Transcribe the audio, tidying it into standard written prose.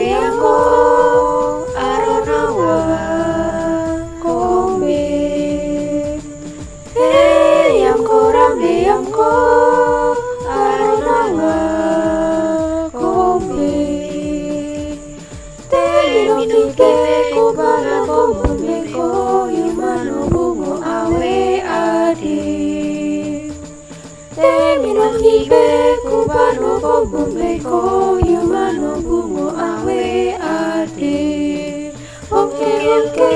Beyangko aronawa kombe. Beyangko rambeyangko aronawa kombe. Teminokipe kubala kombeko yumano bungo awe ade. Teminokipe kubalo kombeko yumano bungo awe ade. Oke oke